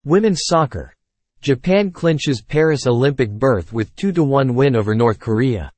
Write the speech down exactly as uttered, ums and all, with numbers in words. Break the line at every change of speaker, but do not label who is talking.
Women's soccer. Japan clinches Paris Olympic berth with two to one win over North Korea.